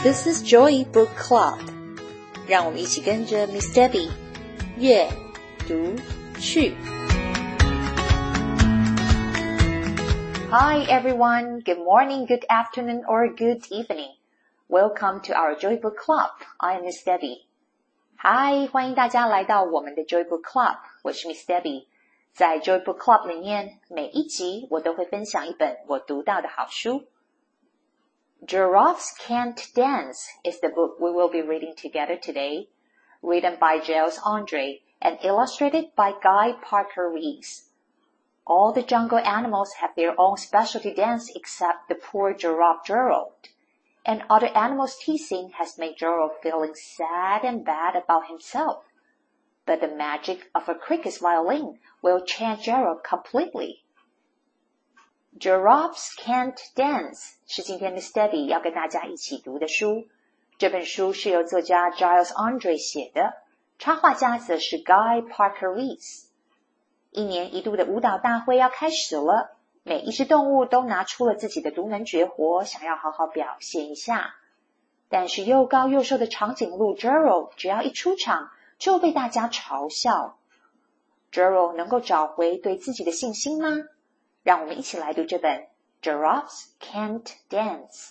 This is Joy Book Club. 让我们一起跟着 Miss Debbie 阅读去。Hi everyone, good morning, good afternoon, or good evening. Welcome to our Joy Book Club. I am Miss Debbie. Hi, 欢迎大家来到我们的 Joy Book Club. 我是 Miss Debbie. 在 Joy Book Club 里面，每一集我都会分享一本我读到的好书。Giraffes Can't Dance is the book we will be reading together today, written by Giles Andre and illustrated by Guy Parker Rees. All the jungle animals have their own specialty dance except the poor giraffe Gerald, and other animals' teasing has made Gerald feeling sad and bad about himself. But the magic of a cricket's violin will change Gerald completely.Giraffes Can't Dance 是今天 Miss Debbie 要跟大家一起读的书。这本书是由作家 Giles Andre 写的，插画家则是 Guy Parker Rees。一年一度的舞蹈大会要开始了，每一只动物都拿出了自己的独门绝活，想要好好表现一下。但是又高又瘦的长颈鹿 Gerald 只要一出场就被大家嘲笑。Gerald 能够找回对自己的信心吗？让我们一起来读这本 Giraffes Can't Dance.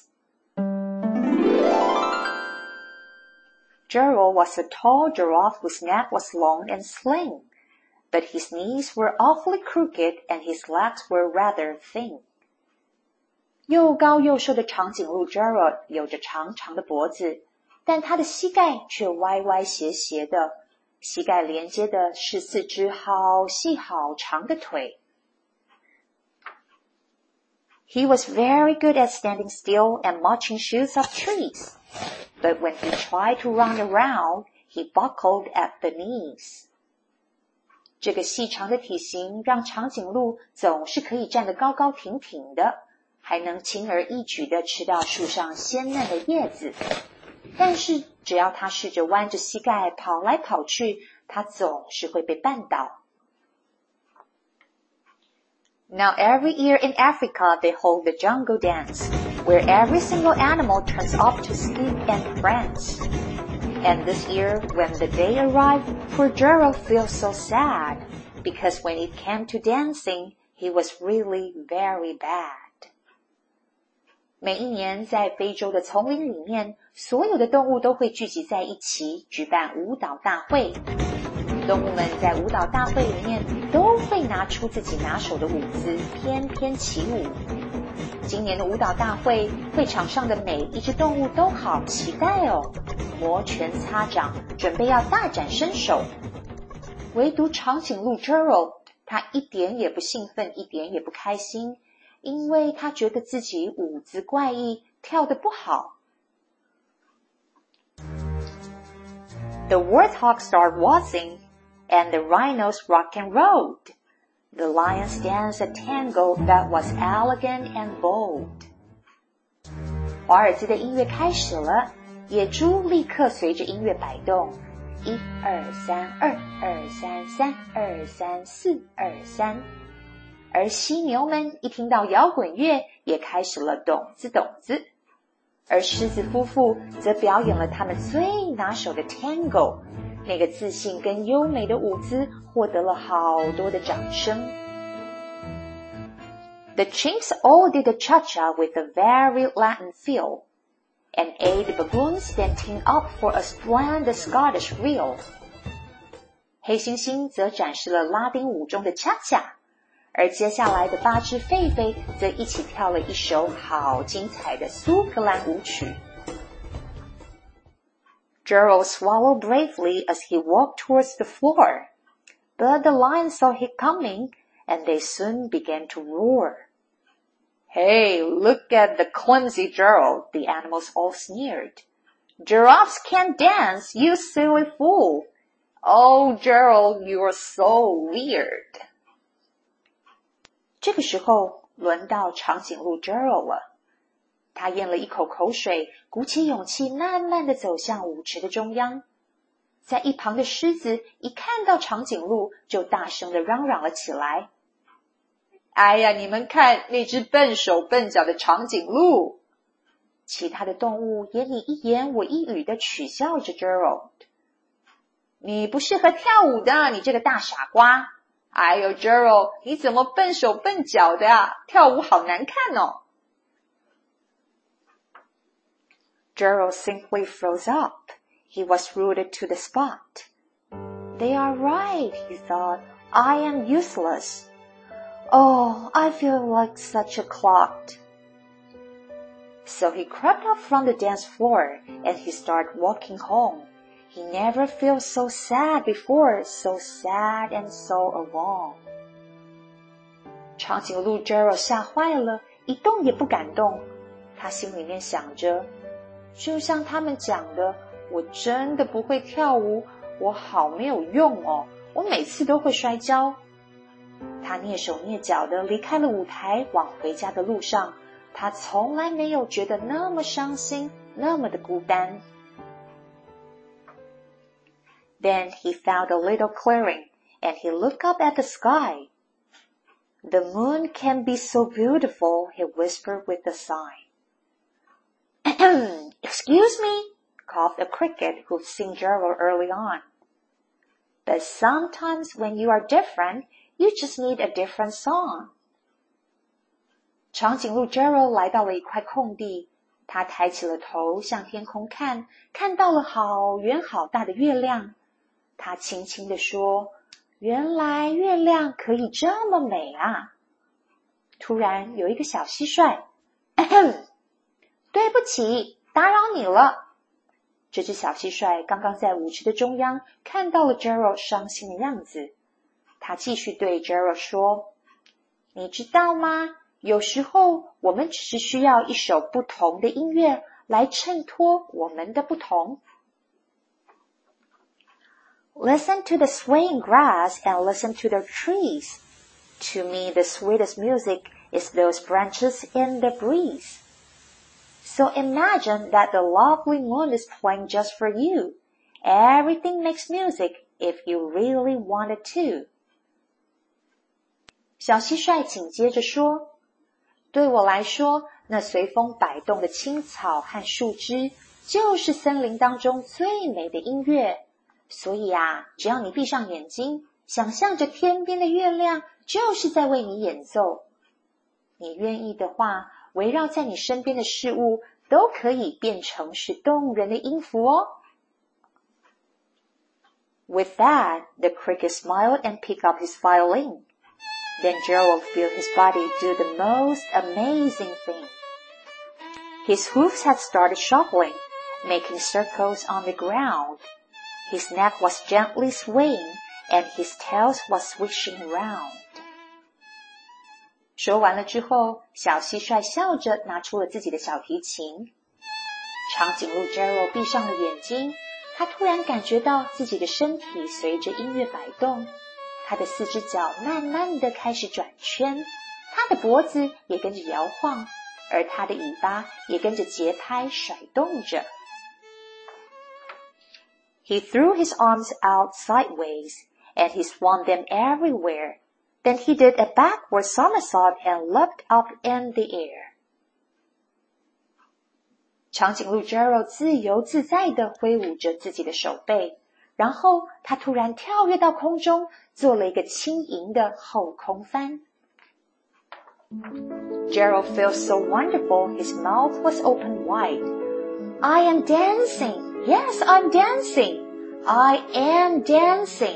Gerald was a tall giraffe whose neck was long and slim, but his knees were awfully crooked and his legs were rather thin. 又高又瘦的长颈鹿 Gerald 有着长长的脖子，但他的膝盖却歪歪斜斜的，膝盖连接的是四只好细好长的腿。He was very good at standing still and marching shoes up trees, but when he tried to run around, he buckled at the knees. 这个细长的体型让长颈鹿总是可以站得高高挺挺的，还能轻而易举地吃到树上鲜嫩的叶子。但是只要他试着弯着膝盖跑来跑去，他总是会被绊倒。Now every year in Africa they hold the jungle dance, where every single animal turns up to speak and prance. And this year, when the day arrived, poor Gerald feels so sad, because when it came to dancing, he was really very bad. 每一年在非洲的丛林里面，所有的动物都会聚集在一起，举办舞蹈大会。动物们在舞蹈大会里面都会拿出自己拿手的舞姿，翩翩起舞。今年的舞蹈大会，会场上的每一只动物都好期待哦，摩拳擦掌，准备要大展身手。唯独长颈鹿 Gerald， 他一点也不兴奋，一点也不开心，因为他觉得自己舞姿怪异，跳得不好。The warthog started waltzing.And the rhinos rock and rolled. The lions danced a tango that was elegant and bold. 华尔兹的音乐开始了，野猪立刻随着音乐摆动，1、2、3、2、2、3、3、2、3、4、2、3。而犀牛们一听到摇滚乐，也开始了咚子咚子。而狮子夫妇则表演了他们最拿手的 tango。那个自信跟优美的舞姿获得了好多的掌声。The chimps all did the cha-cha with a very Latin feel, and 8 baboons then teamed up for a splendid Scottish reel. 黑猩猩则展示了拉丁舞中的恰恰，而接下来的8只狒狒则一起跳了一首好精彩的苏格兰舞曲。Gerald swallowed bravely as he walked towards the floor, but the lions saw him coming, and they soon began to roar. Hey, look at the clumsy Gerald, the animals all sneered. Giraffes can't dance, you silly fool. Oh, Gerald, you are so weird. 这个时候，轮到长颈鹿 Gerald 了。他咽了一口口水，鼓起勇气慢慢地走向舞池的中央。在一旁的狮子一看到长颈鹿，就大声地嚷嚷了起来。哎呀，你们看那只笨手笨脚的长颈鹿。 其他的动物也你一言我一语地取笑着 Gerald。 你不适合跳舞的，你这个大傻瓜。哎呦 Gerald， 你怎么笨手笨脚的啊？跳舞好难看哦。Gerald simply froze up. He was rooted to the spot. They are right, he thought. I am useless. Oh, I feel like such a clod. So he crept up from the dance floor and he started walking home. He never felt so sad before, so sad and so alone. 长颈鹿 Gerald 吓坏了，一动也不敢动。他心里面想着，就像他们讲的，我真的不会跳舞，我好没有用哦，我每次都会摔跤。他蹑手蹑脚地离开了舞台，往回家的路上，他从来没有觉得那么伤心，那么的孤单。Then he found a little clearing, and he looked up at the sky. The moon can be so beautiful, he whispered with a sigh. Excuse me, coughed a cricket who'd seen Gerald early on. But sometimes when you are different, you just need a different song. 长颈鹿 Gerald 来到了一块空地，他抬起了头向天空看，看到了好圆好大的月亮。他轻轻地说，原来月亮可以这么美啊。突然有一个小蟋蟀，对不起，打扰你了。这只小蟋蟀刚刚在舞池的中央看到了 Gerald 伤心的样子，他继续对 Gerald 说，你知道吗？有时候我们只是需要一首不同的音乐来衬托我们的不同。Listen to the swaying grass and listen to the trees. To me, the sweetest music is those branches in the breeze. So imagine that the lovely moon is playing just for you. Everything makes music if you really wanted to. 小蟋蟀紧接着说，对我来说，那随风摆动的青草和树枝，就是森林当中最美的音乐。所以啊，只要你闭上眼睛，想象着天边的月亮就是在为你演奏。你愿意的话，围绕在你身边的事物都可以变成是动人的音符哦。With that, the cricket smiled and picked up his violin. Then Gerald felt his body do the most amazing thing. His hoofs had started shuffling, making circles on the ground.His neck was gently swaying, and his tail was swishing round. 说完了之后，小蟋蟀笑着拿出了自己的小提琴。长颈鹿 Gerald 闭上了眼睛，他突然感觉到自己的身体随着音乐摆动，他的四只脚慢慢地开始转圈，他的脖子也跟着摇晃，而他的尾巴也跟着节拍甩动着。He threw his arms out sideways, and he swung them everywhere. Then he did a backward somersault and leapt up in the air. 长颈鹿 Gerald 自由自在地挥舞着自己的手背，然后他突然跳跃到空中，做了一个轻盈的后空翻。Gerald felt so wonderful, his mouth was open wide. I am dancing.Yes, I'm dancing. I am dancing.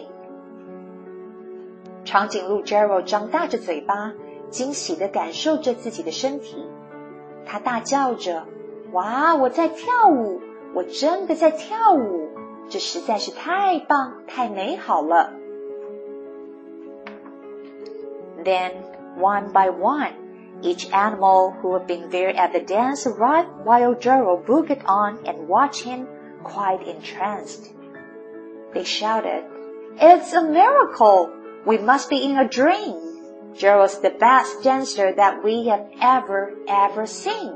长颈鹿 Gerald 张大着嘴巴，惊喜地感受着自己的身体。他大叫着，哇，我在跳舞，我真的在跳舞，这实在是太棒，太美好了。Then, one by one, each animal who had been there at the dance arrived while Gerald boogied on and watched him.Quite entranced. They shouted, It's a miracle! We must be in a dream! Gerald's the best dancer that we have ever seen.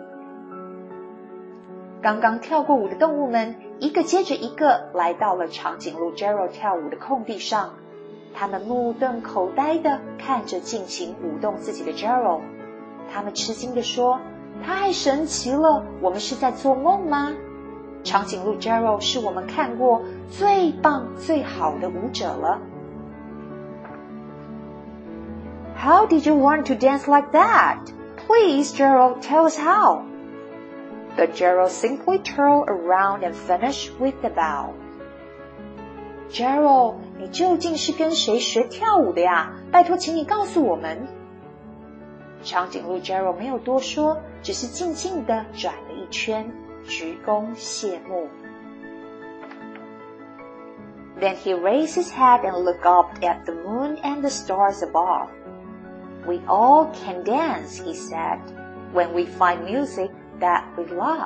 刚刚跳过舞的动物们，一个接着一个来到了长颈鹿 Gerald 跳舞的空地上。他们目瞪口呆地看着尽情舞动自己的 Gerald。他们吃惊地说， 太神奇了，我们是在做梦吗？长颈鹿 Gerald 是我们看过最棒最好的舞者了。How did you learn to dance like that? Please, Gerald, tell us how. But Gerald simply turned around and finished with the bow. Gerald, 你究竟是跟谁学跳舞的呀？拜托，请你告诉我们。长颈鹿 Gerald 没有多说，只是静静地转了一圈，鞠躬谢幕。Then he raised his head and looked up at the moon and the stars above. We all can dance, he said, when we find music that we love.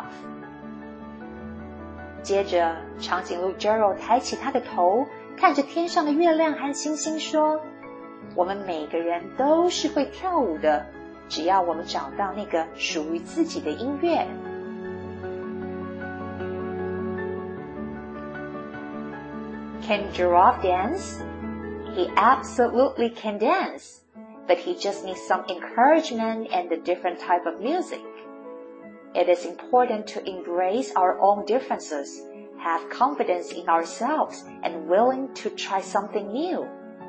接着，长颈鹿 Gerald 抬起他的头，看着天上的月亮和星星说，我们每个人都是会跳舞的，只要我们找到那个属于自己的音乐。Can giraffe dance? He absolutely can dance, but he just needs some encouragement and a different type of music. It is important to embrace our own differences, have confidence in ourselves, and willing to try something new.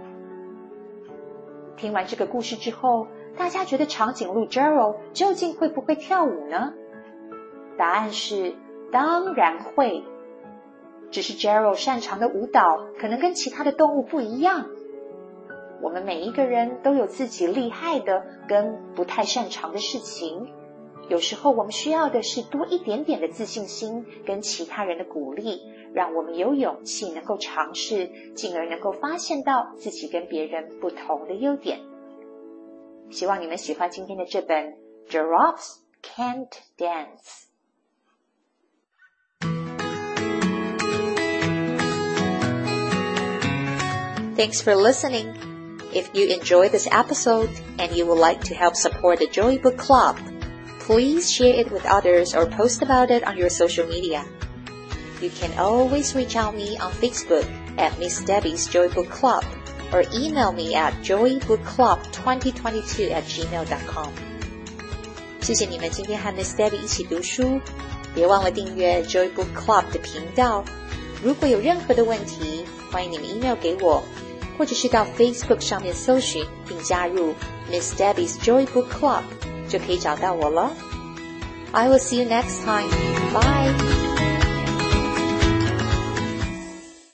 听完这个故事之后，大家觉得长颈鹿 Gerald 究竟会不会跳舞呢？答案是当然会。只是 Gerald 擅长的舞蹈可能跟其他的动物不一样。我们每一个人都有自己厉害的跟不太擅长的事情，有时候我们需要的是多一点点的自信心跟其他人的鼓励，让我们有勇气能够尝试，进而能够发现到自己跟别人不同的优点。希望你们喜欢今天的这本 Giraffes Can't Dance。Thanks for listening. If you enjoyed this episode and you would like to help support the Joy Book Club, please share it with others or post about it on your social media. You can always reach out me on Facebook at Miss Debbie's Joy Book Club or email me at joybookclub2022@gmail.com. 谢谢你们今天和 Miss Debbie 一起读书，别忘了订阅 Joy Book Club 的频道。如果有任何的问题，欢迎你们 email 给我，或者是到 Facebook 上面搜寻并加入 Miss Debbie's Joy Book Club 就可以找到我了。I will see you next time. Bye.